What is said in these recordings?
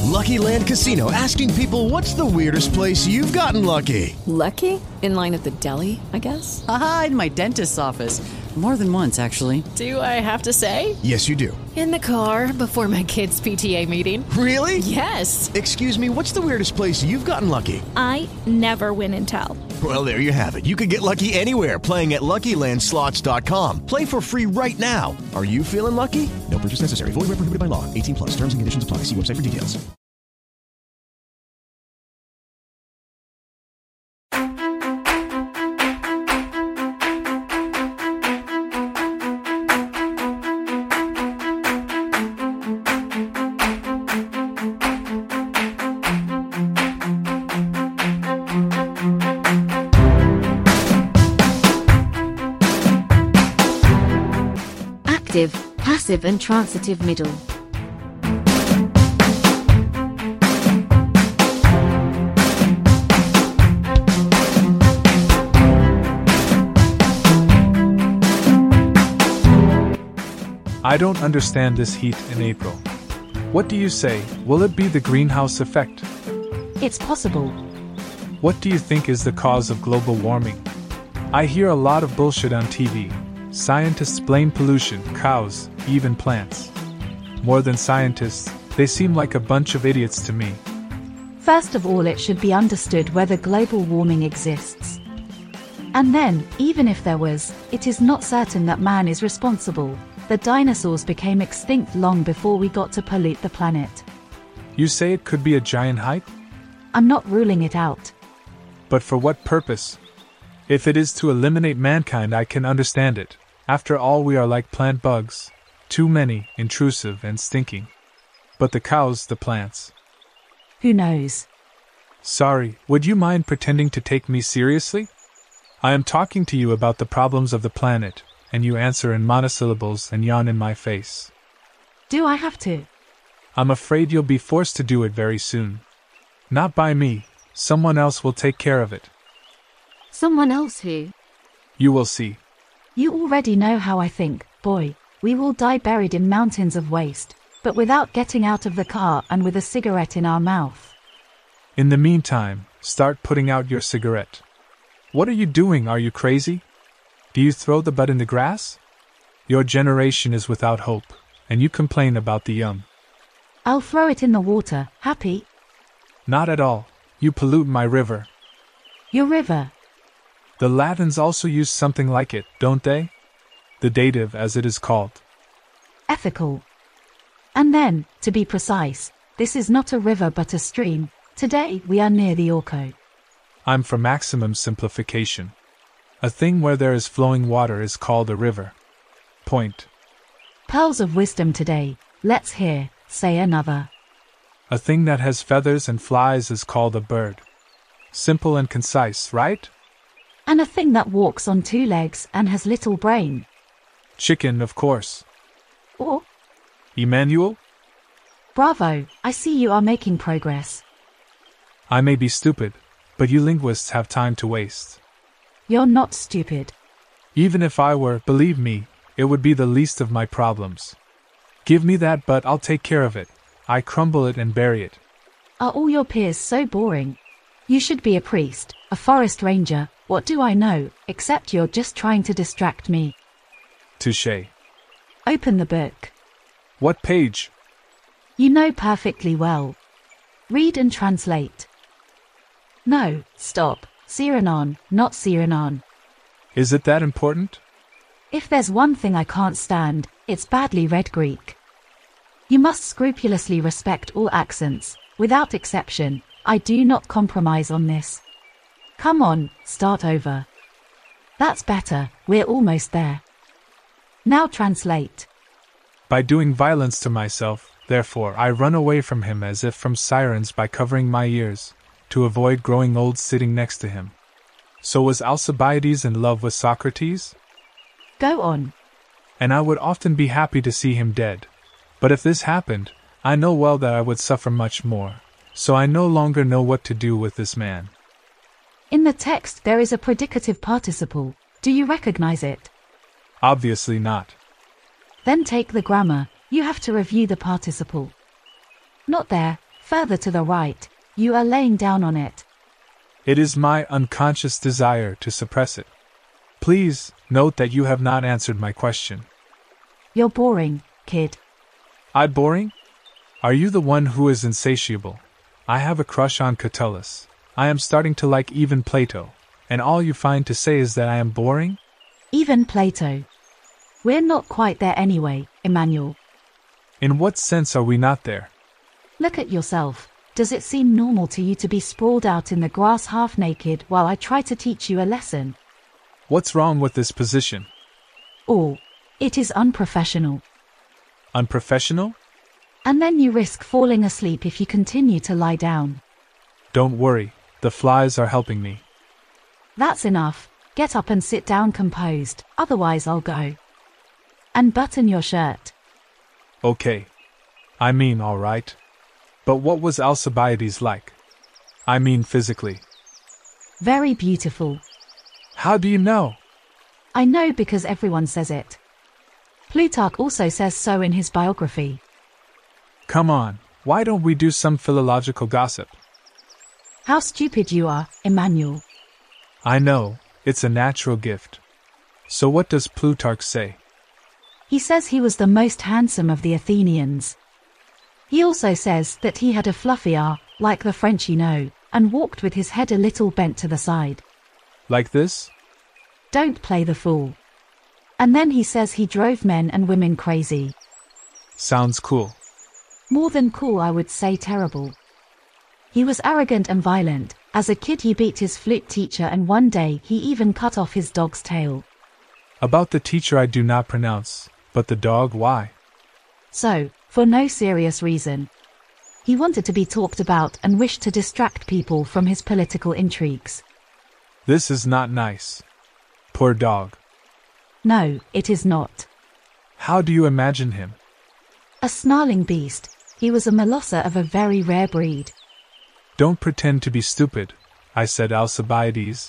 Lucky Land Casino, asking people, what's the weirdest place you've gotten lucky? Lucky? In line at the deli, I guess? Aha, in my dentist's office. More than once, actually. Do I have to say? Yes, you do. In the car before my kids' PTA meeting. Really? Yes. Excuse me, what's the weirdest place you've gotten lucky? I never win and tell. Well, there you have it. You can get lucky anywhere, playing at LuckyLandSlots.com. Play for free right now. Are you feeling lucky? No purchase necessary. Void where prohibited by law. 18 plus. Terms and conditions apply. See website for details. Active, passive and transitive middle. I don't understand this heat in April. What do you say? Will it be the greenhouse effect? It's possible. What do you think is the cause of global warming? I hear a lot of bullshit on TV. Scientists blame pollution, cows, even plants. More than scientists, they seem like a bunch of idiots to me. First of all, it should be understood whether global warming exists. And then, even if there was, it is not certain that man is responsible. The dinosaurs became extinct long before we got to pollute the planet. You say it could be a giant hype? I'm not ruling it out. But for what purpose? If it is to eliminate mankind, I can understand it. After all, we are like plant bugs. Too many, intrusive and stinking. But the cows, the plants. Who knows? Sorry, would you mind pretending to take me seriously? I am talking to you about the problems of the planet, and you answer in monosyllables and yawn in my face. Do I have to? I'm afraid you'll be forced to do it very soon. Not by me, someone else will take care of it. Someone else who? You will see. You already know how I think, boy. We will die buried in mountains of waste, but without getting out of the car and with a cigarette in our mouth. In the meantime, start putting out your cigarette. What are you doing? Are you crazy? Do you throw the butt in the grass? Your generation is without hope, and you complain about the young. I'll throw it in the water, happy? Not at all. You pollute my river. Your river? The Latins also use something like it, don't they? The dative, as it is called. Ethical. And then, to be precise, this is not a river but a stream. Today we are near the Orco. I'm for maximum simplification. A thing where there is flowing water is called a river. Point. Pearls of wisdom today, let's hear, say another. A thing that has feathers and flies is called a bird. Simple and concise, right? And a thing that walks on two legs and has little brain. Chicken, of course. Or? Emmanuel? Bravo, I see you are making progress. I may be stupid, but you linguists have time to waste. You're not stupid. Even if I were, believe me, it would be the least of my problems. Give me that butt, I'll take care of it. I crumble it and bury it. Are all your peers so boring? You should be a priest, a forest ranger, what do I know, except you're just trying to distract me. Touché. Open the book. What page? You know perfectly well. Read and translate. No, stop. Cyrenon, not Cyrenon. Is it that important? If there's one thing I can't stand, it's badly read Greek. You must scrupulously respect all accents, without exception. I do not compromise on this. Come on, start over. That's better, we're almost there. Now translate. By doing violence to myself, therefore, I run away from him as if from sirens by covering my ears, to avoid growing old sitting next to him. So was Alcibiades in love with Socrates? Go on. And I would often be happy to see him dead. But if this happened, I know well that I would suffer much more. So I no longer know what to do with this man. In the text there is a predicative participle. Do you recognize it? Obviously not. Then take the grammar. You have to review the participle. Not there. Further to the right, you are laying down on it. It is my unconscious desire to suppress it. Please, note that you have not answered my question. You're boring, kid. I boring? Are you the one who is insatiable? I have a crush on Catullus. I am starting to like even Plato. And all you find to say is that I am boring? Even Plato. We're not quite there anyway, Emmanuel. In what sense are we not there? Look at yourself. Does it seem normal to you to be sprawled out in the grass half naked while I try to teach you a lesson? What's wrong with this position? Or, it is unprofessional. Unprofessional? And then you risk falling asleep if you continue to lie down. Don't worry, the flies are helping me. That's enough. Get up and sit down composed, otherwise I'll go. And button your shirt. Okay. I mean, all right. But what was Alcibiades like? I mean physically. Very beautiful. How do you know? I know because everyone says it. Plutarch also says so in his biography. Come on, why don't we do some philological gossip? How stupid you are, Emmanuel. I know, it's a natural gift. So what does Plutarch say? He says he was the most handsome of the Athenians. He also says that he had a fluffy R, like the French you know, and walked with his head a little bent to the side. Like this? Don't play the fool. And then he says he drove men and women crazy. Sounds cool. More than cool, I would say terrible. He was arrogant and violent. As a kid he beat his flute teacher and one day he even cut off his dog's tail. About the teacher I do not pronounce, but the dog, why? So, for no serious reason. He wanted to be talked about and wished to distract people from his political intrigues. This is not nice. Poor dog. No, it is not. How do you imagine him? A snarling beast. He was a molosser of a very rare breed. Don't pretend to be stupid, I said Alcibiades.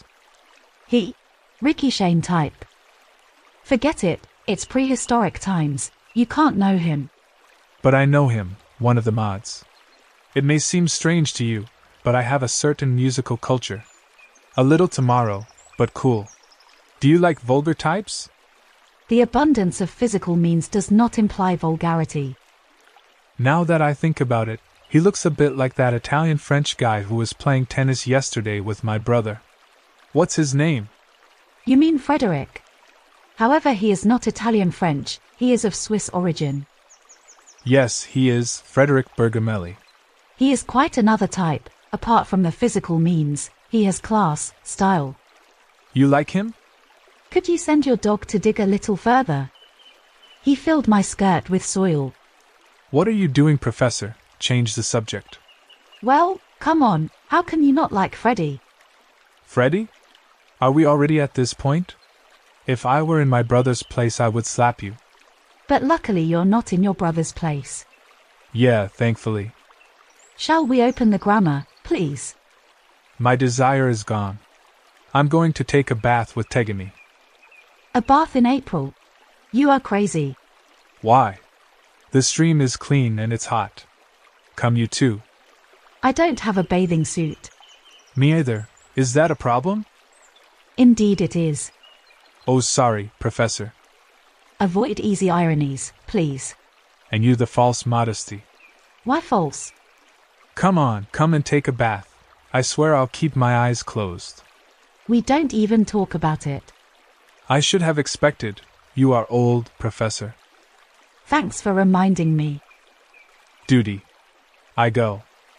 Ricky Shane type. Forget it, it's prehistoric times. You can't know him. But I know him, one of the mods. It may seem strange to you, but I have a certain musical culture. A little tomorrow, but cool. Do you like vulgar types? The abundance of physical means does not imply vulgarity. Now that I think about it, he looks a bit like that Italian-French guy who was playing tennis yesterday with my brother. What's his name? You mean Frederick? However, he is not Italian-French, he is of Swiss origin. Yes, he is, Frederick Bergamelli. He is quite another type. Apart from the physical means, he has class, style. You like him? Could you send your dog to dig a little further? He filled my skirt with soil. What are you doing, Professor? Change the subject. Well, come on, how can you not like Freddy? Freddy? Are we already at this point? If I were in my brother's place, I would slap you. But luckily you're not in your brother's place. Yeah, thankfully. Shall we open the grammar, please? My desire is gone. I'm going to take a bath with Tegami. A bath in April? You are crazy. Why? The stream is clean and it's hot. Come you too. I don't have a bathing suit. Me either. Is that a problem? Indeed it is. Oh, sorry, Professor. Avoid easy ironies, please. And you the false modesty. Why false? Come on, come and take a bath. I swear I'll keep my eyes closed. We don't even talk about it. I should have expected. You are old, Professor. Thanks for reminding me. Duty. I go.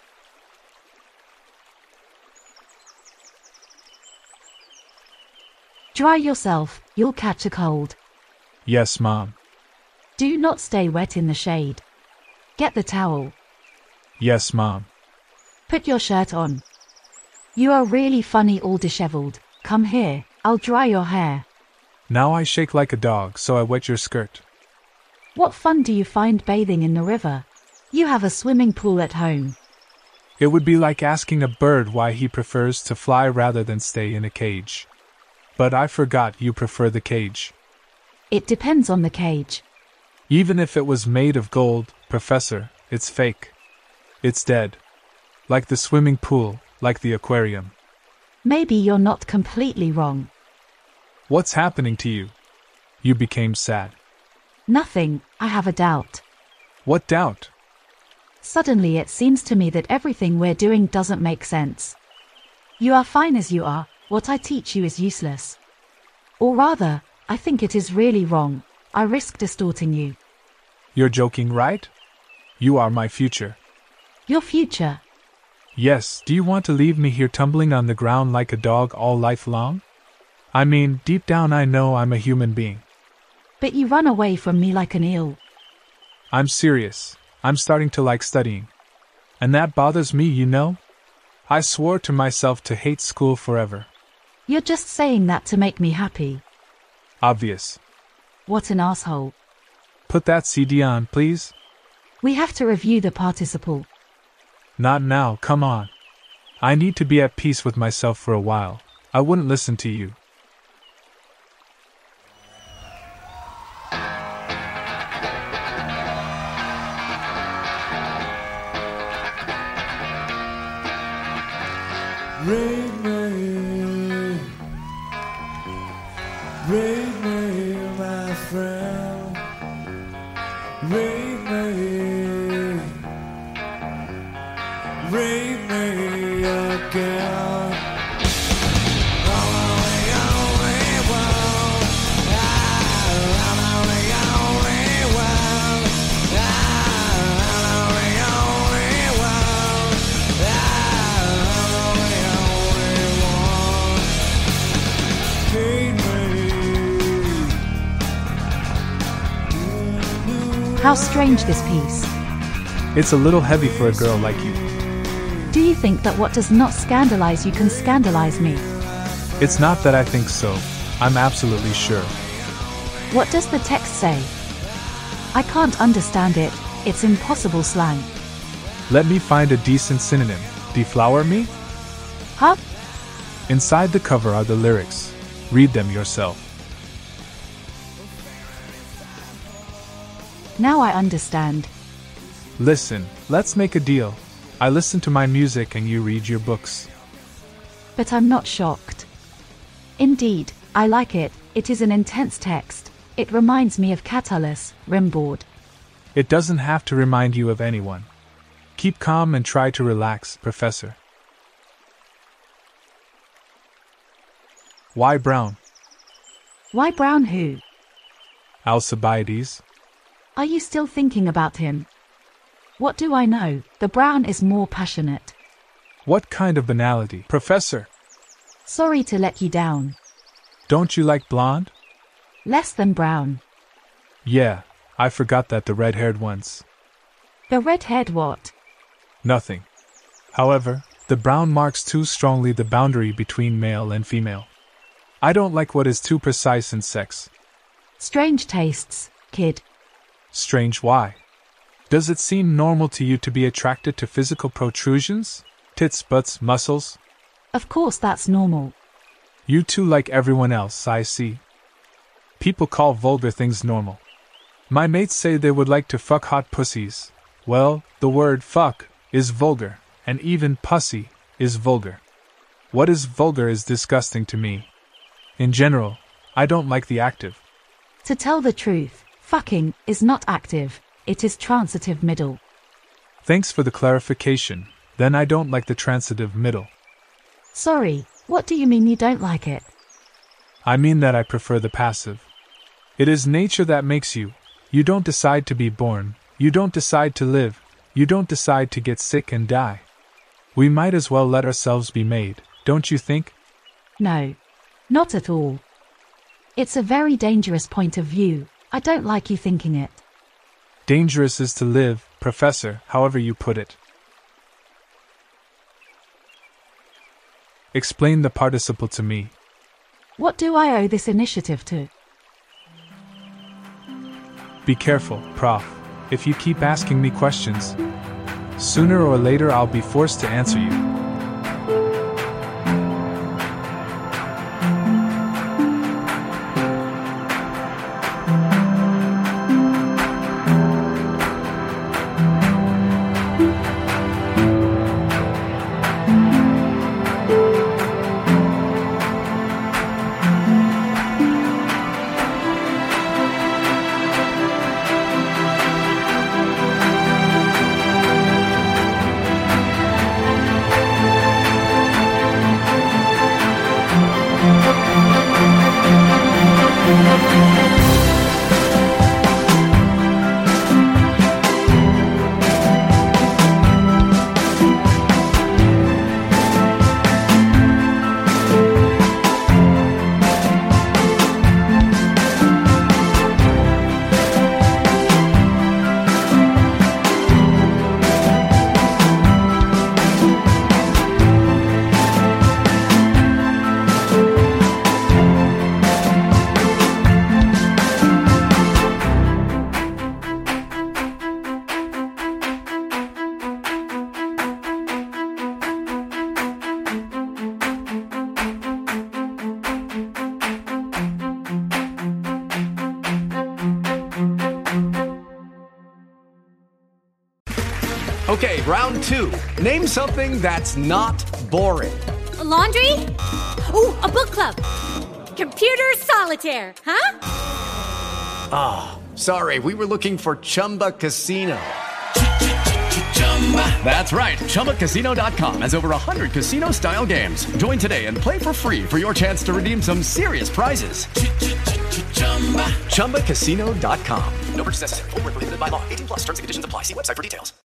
Dry yourself, you'll catch a cold. Yes, Mom. Do not stay wet in the shade. Get the towel. Yes, Mom. Put your shirt on. You are really funny all disheveled. Come here, I'll dry your hair. Now I shake like a dog, so I wet your skirt. What fun do you find bathing in the river? You have a swimming pool at home. It would be like asking a bird why he prefers to fly rather than stay in a cage. But I forgot you prefer the cage. It depends on the cage. Even if it was made of gold, Professor, it's fake. It's dead. Like the swimming pool, like the aquarium. Maybe you're not completely wrong. What's happening to you? You became sad. Nothing, I have a doubt. What doubt? Suddenly it seems to me that everything we're doing doesn't make sense. You are fine as you are, what I teach you is useless. Or rather, I think it is really wrong. I risk distorting you. You're joking, right? You are my future. Your future? Yes, do you want to leave me here tumbling on the ground like a dog all life long? I mean, deep down I know I'm a human being. But you run away from me like an eel. I'm serious. I'm starting to like studying. And that bothers me, you know? I swore to myself to hate school forever. You're just saying that to make me happy. Obvious. What an asshole. Put that CD on, please. We have to review the participle. Not now, come on. I need to be at peace with myself for a while. I wouldn't listen to you. Read me, my friend. Read me again. How strange this piece. It's a little heavy for a girl like you. Do you think that what does not scandalize you can scandalize me? It's not that I think so. I'm absolutely sure. What does the text say? I can't understand it. It's impossible slang. Let me find a decent synonym. Deflower me? Huh? Inside the cover are the lyrics. Read them yourself. Now I understand. Listen, let's make a deal. I listen to my music and you read your books. But I'm not shocked. Indeed, I like it. It is an intense text. It reminds me of Catullus, Rimbaud. It doesn't have to remind you of anyone. Keep calm and try to relax, Professor. Why Brown? Why Brown who? Alcibiades. Are you still thinking about him? What do I know? The Brown is more passionate. What kind of banality, Professor? Sorry to let you down. Don't you like blonde? Less than brown. Yeah, I forgot that the red-haired ones. The red-haired what? Nothing. However, the brown marks too strongly the boundary between male and female. I don't like what is too precise in sex. Strange tastes, kid. Strange why? Does it seem normal to you to be attracted to physical protrusions? Tits, butts, muscles? Of course that's normal. You too like everyone else, I see. People call vulgar things normal. My mates say they would like to fuck hot pussies. Well, the word fuck is vulgar, and even pussy is vulgar. What is vulgar is disgusting to me. In general, I don't like the active. To tell the truth, fucking is not active, it is transitive middle. Thanks for the clarification. Then I don't like the transitive middle. Sorry, what do you mean you don't like it? I mean that I prefer the passive. It is nature that makes you. You don't decide to be born. You don't decide to live. You don't decide to get sick and die. We might as well let ourselves be made, don't you think? No. Not at all. It's a very dangerous point of view. I don't like you thinking it. Dangerous is to live, Professor, however you put it. Explain the participle to me. What do I owe this initiative to? Be careful, Prof. If you keep asking me questions, sooner or later I'll be forced to answer you. Okay, round two. Name something that's not boring. A laundry? Ooh, a book club. Computer solitaire, huh? Ah, oh, sorry, we were looking for Chumba Casino. That's right, ChumbaCasino.com has over 100 casino-style games. Join today and play for free for your chance to redeem some serious prizes. ChumbaCasino.com. No purchase necessary. Void where prohibited by law. 18+. Terms and conditions apply. See website for details.